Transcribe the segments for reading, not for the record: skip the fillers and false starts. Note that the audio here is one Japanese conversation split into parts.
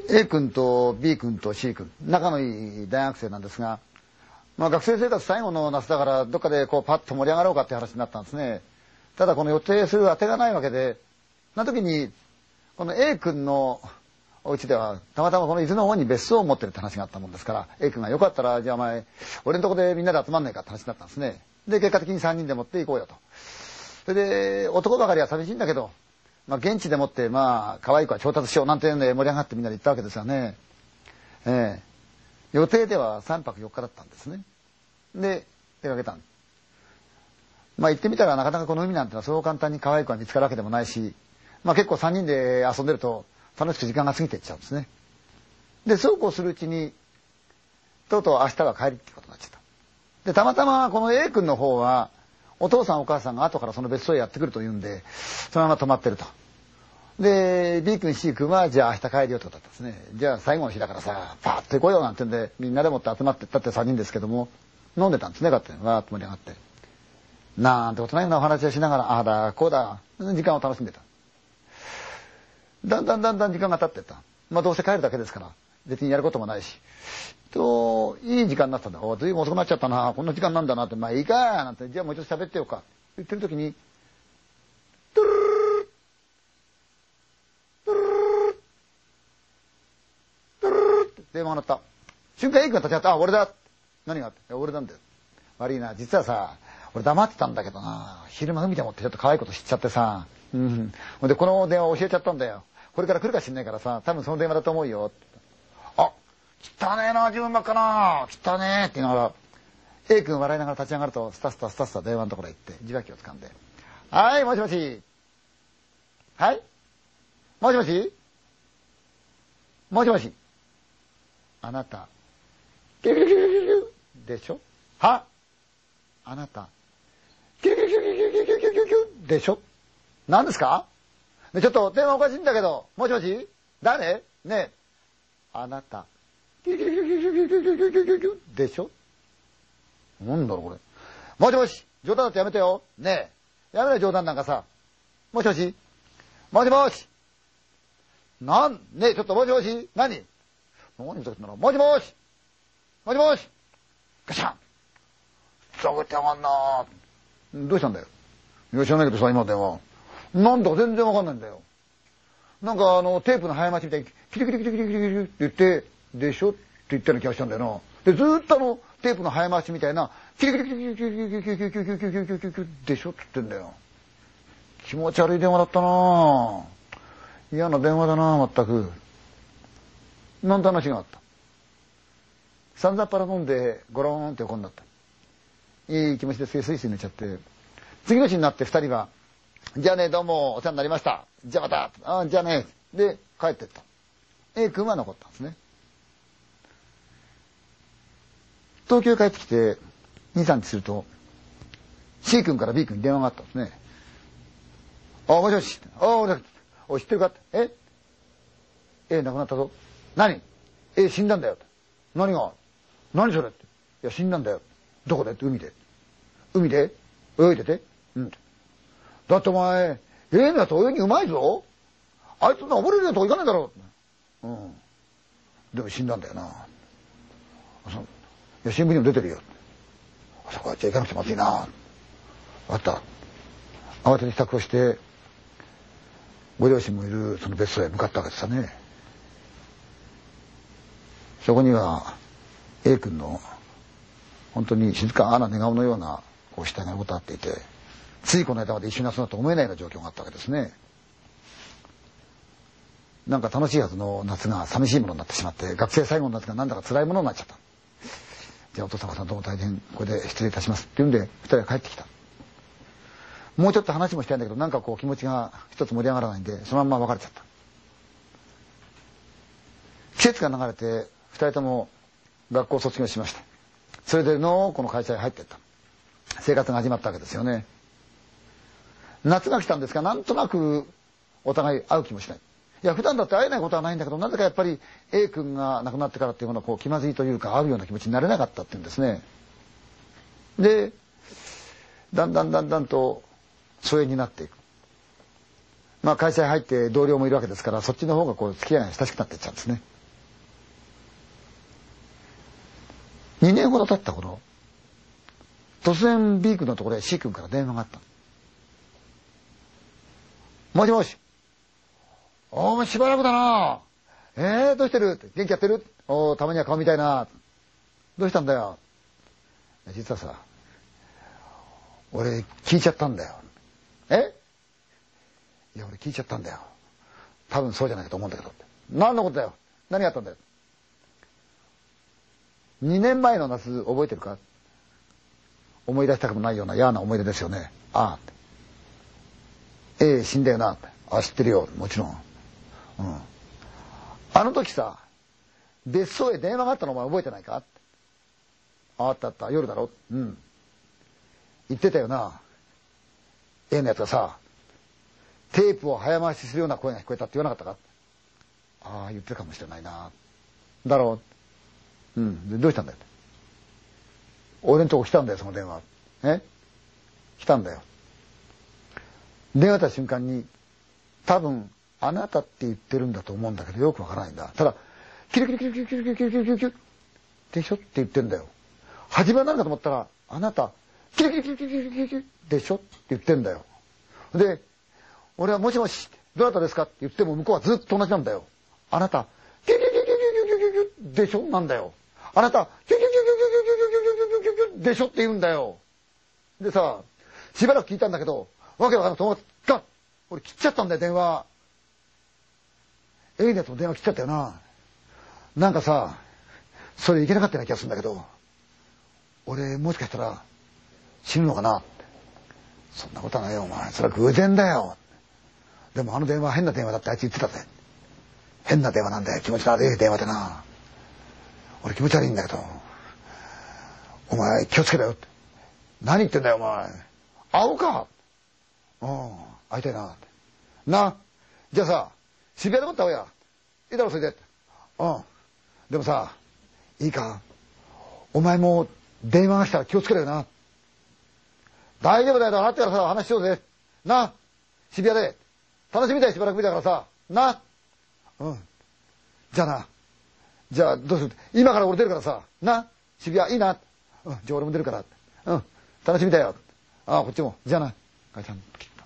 A 君と B 君と C 君、仲のいい大学生なんですが、学生生活最後の夏だからどっかでこうパッと盛り上がろうかって話になったんですね。ただこの予定する当てがないわけで、その時にこの A 君のお家ではたまたまこの伊豆の方に別荘を持ってるって話があったもんですから、 A 君がよかったらじゃあお前俺のとこでみんなで集まんないかって話になったんですね。で結果的に3人で持っていこうよと。それで男ばかりは寂しいんだけど、現地でもって可愛い子は調達しようなんていうんで盛り上がってみんなで行ったわけですよね。予定では3泊4日だったんですね。で出かけたん。行ってみたらなかなかこの海なんてのはそう簡単に可愛い子が見つかるわけでもないし、結構3人で遊んでると楽しく時間が過ぎていっちゃうんですね。でそうこうするうちにとうとう明日は帰りってことになっちゃった。でたまたまこの A 君の方はお父さんお母さんが後からその別荘へやってくるというんでそのまま泊まってると。で B 君 C 君はじゃあ明日帰るよってことだったんですね。じゃあ最後の日だからさパーッと行こうよなんてんでみんなでもって集まってったって3人ですけども飲んでたんですね。勝手にわーっと盛り上がってなんてことないようなお話をしながらああだこうだ時間を楽しんでた。だんだん時間が経ってった。どうせ帰るだけですから別にやることもないしいい時間になったんだ。ずいぶん遅くなっちゃったなこんな時間なんだなっていいかなんてじゃあもうちょっと喋ってよか言ってる時にトゥルルルトゥルルルトゥルルルって電話が鳴った瞬間 A 君が立ち上がって俺だ何があって俺なんだよ悪いな実はさ俺黙ってたんだけどな昼間海でもってちょっと可愛いこと知っちゃってさでこの電話教えちゃったんだよこれから来るかしんないからさ多分その電話だと思うよ汚ねえな自分ばっかな汚ねえって言いながら A 君笑いながら立ち上がるとスタスタ電話のところへ行って受話器を掴んではいもしもしはいもしもしもしもしあなたキュキュキュキュキュでしょはあなたキュキュキュキュキュキュキュキュキュキュでしょ何ですかちょっと電話おかしいんだけどもしもし誰ねえあなたでしょなんだろうこれもしもし冗談だってやめてよねえやめろよ冗談なんかさもしもしもしもしねえちょっともしもし何言ってんだろうもしもしもしもしガシャンふざけてやがんなどうしたんだよいや知らないけどさ今の電話なんだか全然わかんないんだよなんかテープの早待ちみたいにキリキリキリキリキリキリって言ってでしょって言ったような気がしたんだよな。でずーっとテープの早回しみたいなキリキリキリキリキリキリキリキリキリキリキリキリキリキリキリでしょって言ってんだよ。気持ち悪い電話だったな嫌な電話だな全く。なんて話があった。さんざっぱら飲んでゴローンって横になった。いい気持ちでスイスイ寝ちゃって次の日になって二人はじゃあねどうもお世話になりましたじゃあまたじゃあねで帰ってった。A 君は残ったんですね。東京へ帰ってきて2、3日すると C 君から B 君に電話があったんですね。もしもし知ってるかA 亡くなったぞ。何死んだんだよ。何それって。いや死んだんだよ。どこでって海で泳いでてだってお前のやつ泳ぎうまいぞあいつ溺れるようなとこ行かないだろでも死んだんだよな。いや新聞にも出てるよ。そこはじゃあ行かなくてまずいな。分かった。慌てて支度をしてご両親もいるその別荘へ向かったわけですよね。そこには A 君の本当に静かな寝顔のような死体が横たわっていてついこの間まで一緒に遊んだと思えないような状況があったわけですね。なんか楽しいはずの夏が寂しいものになってしまって学生最後の夏がなんだか辛いものになっちゃった。じゃあお父様さんどうも大変これで失礼いたしますって言うんで二人は帰ってきた。もうちょっと話もしたいんだけどなんか気持ちが一つ盛り上がらないんでそのまんま別れちゃった。季節が流れて二人とも学校を卒業しました。それでこの会社へ入っていった生活が始まったわけですよね。夏が来たんですがなんとなくお互い会う気もしない。いや普段だって会えないことはないんだけどなぜかやっぱり A 君が亡くなってからっていうものは気まずいというか会うような気持ちになれなかったっていうんですね。でだんだんと疎遠になっていく。会社に入って同僚もいるわけですからそっちの方が付き合いが親しくなっていっちゃうんですね。 年ほど経った頃、突然 B 君のところへ C 君から電話があった。もしもし。お前しばらくだな。どうしてるって元気やってる？たまには顔見たいな。どうしたんだよ。実はさ、俺聞いちゃったんだよ。いや俺聞いちゃったんだよ。多分そうじゃないかと思うんだけど。何のことだよ。何があったんだよ。2年前の夏覚えてるか？思い出したくもないような嫌な思い出ですよね。ああ。死んだよな。あ、知ってるよ。もちろん。あの時さ、別荘へ電話があったのお前覚えてないか？あったあった。夜だろ？言ってたよな。のやつがさ、テープを早回しするような声が聞こえたって言わなかったか？ああ、言ってるかもしれないな。だろう。でどうしたんだよ。俺のとこ来たんだよ、その電話。来たんだよ。電話した瞬間に、多分、あなたって言ってるんだと思うんだけど、よくわからないんだ。ただ、キュルキュルキュルキュルキュルキュルキュルキュルでしょって言ってんだよ。始まるかと思ったら、あなた、キュルキュルキュルキュルキュルキュルでしょって言ってんだよ。で、俺はもしもし、どなたですかって言っても向こうはずっと同じなんだよ。あなた、キュルキュルキュルキュルキュルキュルキュルでしょなんだよ。あなた、キュルキュルキュルキュルキュルキュルキュルキュルキュルでしょって言うんだよ。でさ、しばらく聞いたんだけど、わけわかんないと思った。俺切っちゃったんだよ、電話。のやつも電話切っちゃったよな。なんかさ、それいけなかったような気がするんだけど、俺もしかしたら死ぬのかなって。そんなことはないよ、お前。それは偶然だよ。でもあの電話変な電話だってあいつ言ってたぜ。変な電話なんだよ。気持ち悪い電話でな。俺気持ち悪いんだけど、お前気をつけろよって。何言ってんだよ、お前。会おうか。会いたいな。な。じゃあさ、渋谷でもって会おうや。いいだろ、それで。でもさ、いいか。お前も電話が来たら気をつけろよな。大丈夫だよ。払ってからさ、話しようぜ。な。渋谷で。楽しみだよ、しばらく見たからさ。な。じゃあな。じゃあ、どうする？今から俺出るからさ。な。渋谷、いいな。じゃあ俺も出るから。楽しみだよ。こっちも。じゃあな。ガチャンと切った。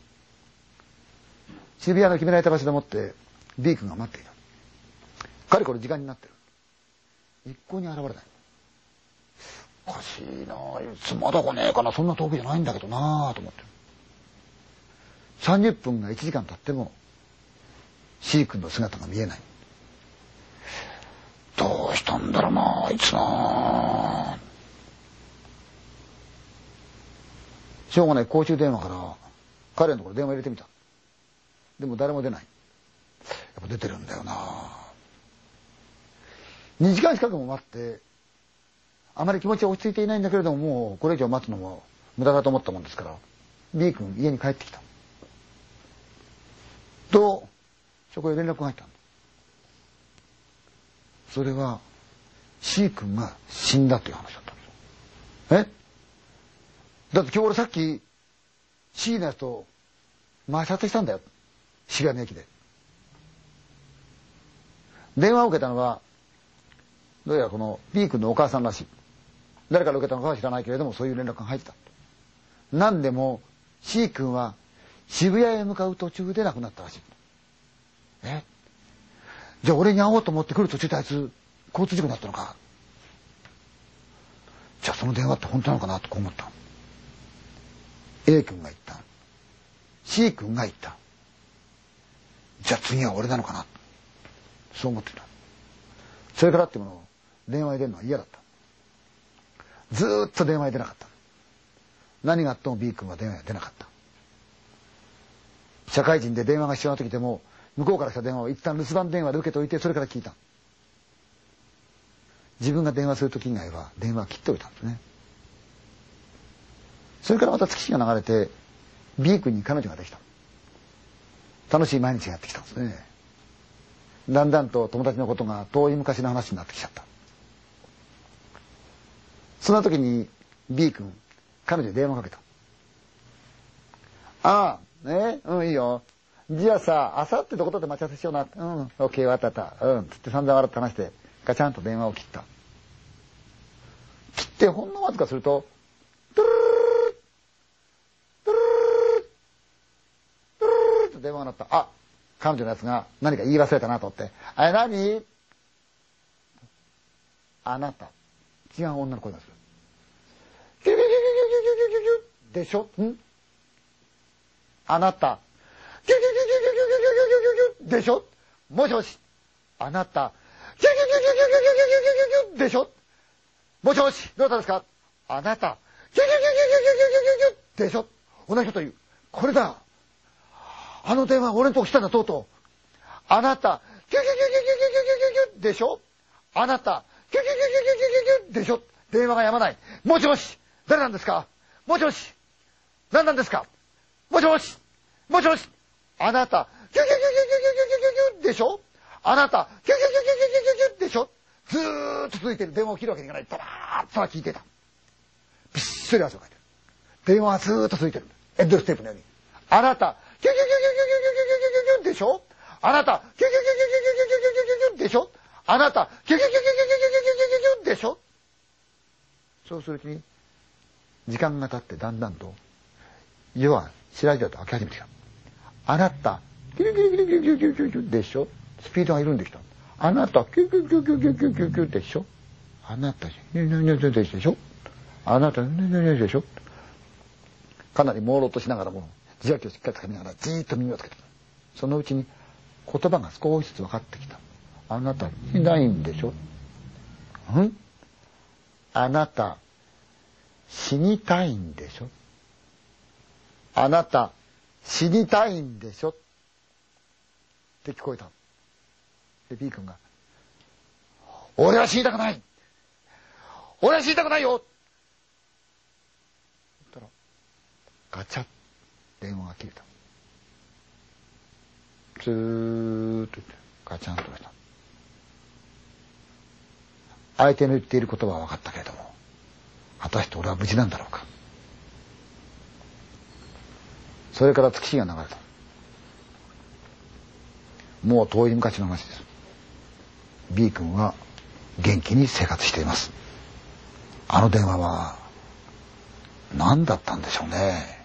渋谷の決められた場所でもって、B 君が待っていた。かれこれ時間になってる。一向に現れない。おかしいなあ、いつまだ来ねえかな、そんな遠くじゃないんだけどなあと思ってる。30分が1時間経っても C 君の姿が見えない。どうしたんだろうなあいつなあ。しょうがない公衆電話から彼のところ電話入れてみた。でも誰も出ない。やっぱ出てるんだよなあ。2時間近くも待ってあまり気持ちは落ち着いていないんだけれども、もうこれ以上待つのも無駄だと思ったもんですから B 君家に帰ってきたと、そこへ連絡が入ったんだ。それは C 君が死んだという話だったんですよ。だって今日俺さっき C のやつと前撮影したんだよ、渋谷の駅で。電話を受けたのはどうやらこの B 君のお母さんらしい。誰から受けたのかは知らないけれども、そういう連絡が入ってた。何でも C 君は渋谷へ向かう途中で亡くなったらしい。じゃあ俺に会おうと思って来る途中であいつ交通事故になったのか。じゃあその電話って本当なのかなとこう思った。A 君が言った。C 君が言った。じゃあ次は俺なのかな。そう思ってた。それからってもの電話に出るのは嫌だった。ずーっと電話に出なかった。何があっても B 君は電話に出なかった。社会人で電話が必要な時でも向こうから来た電話を一旦留守番電話で受けておいて、それから聞いた。自分が電話する時以外は電話を切っておいたんですね。それからまた月日が流れて B 君に彼女ができた。楽しい毎日がやってきたんですね。だんだんと友達のことが遠い昔の話になってきちゃった。そんな時に B 君彼女に電話かけた。いいよ。じゃあさ、あさってどこで待ち合わせしような。オッケー、わかった。つって散々笑って話してガチャンと電話を切った。 してほんのわずかすると、トゥルルルルトゥルルルルトゥルルルルと電話が鳴った。あ、彼女のやつが何か言い忘れたなと思って、あれ何？あなた。違う女の声がする。キュキュキュキュキュキュキュキュでしょ？ん？あなた。キュキュキュキュキュキュキュキュキュキュでしょ？もしもし。あなた。キュキュキュキュキュキュキュキュキュキュでしょ？もしもし。どうしたんですか？あなた。キュキュキュキュキュキュキュキュキュでしょ？同じこと言う。これだ。あの電話俺のとこ来たんだとうとう。あなた。キュキュキュキュキュキュキュキュでしょ？あなた。キュキュキュキュキュキュキュでしょ？電話がやまない。もしもし。誰なんですか？もしもし。何なんですか？もしもし。もしもし。あなた。キュキュキュキュキュキュキュキュキュでしょ？あなた。キュキュキュキュキュキュキュでしょ？ずーっと続いてる。電話を切るわけにいかない。ただーっと聞いてた。びっしり汗をかいてる。電話はずーっと続いてる。エンドステープのように。あなた。キュキュキュキュキュキュキュキュキュキュでしょ？あなた。キュキュキュキュキュキュキュキュキュキュキュでしょ？あなた。キュキュキュキュキュキュキュキュキュでしょ？そうするうちに時間が経ってだんだんと夜は白々と開き始めてきた。あなたキュキュキュキュキュキュキュキュキュでしょ？スピードが緩んできた。あなたキュキュキュキュキュキュキュキュでしょ？あなたでしょ？あなたでしょ？かなり朦朧としながらも受話器をしっかりつかみながらじーっと耳をつけてた。そのうちに言葉が少しずつ分かってきた。あなたいないんでしょ？あなた死にたいんでしょ？あなた死にたいんでしょ？って聞こえた。で B 君が「俺は死にたくない！俺は死にたくないよ！」言ったらガチャッ電話が切れた。ずーっと言ってガチャンとした。相手の言っていることは分かったけれども、果たして俺は無事なんだろうか。それから月日が流れた。もう遠い昔の話です。B 君は元気に生活しています。あの電話は何だったんでしょうね。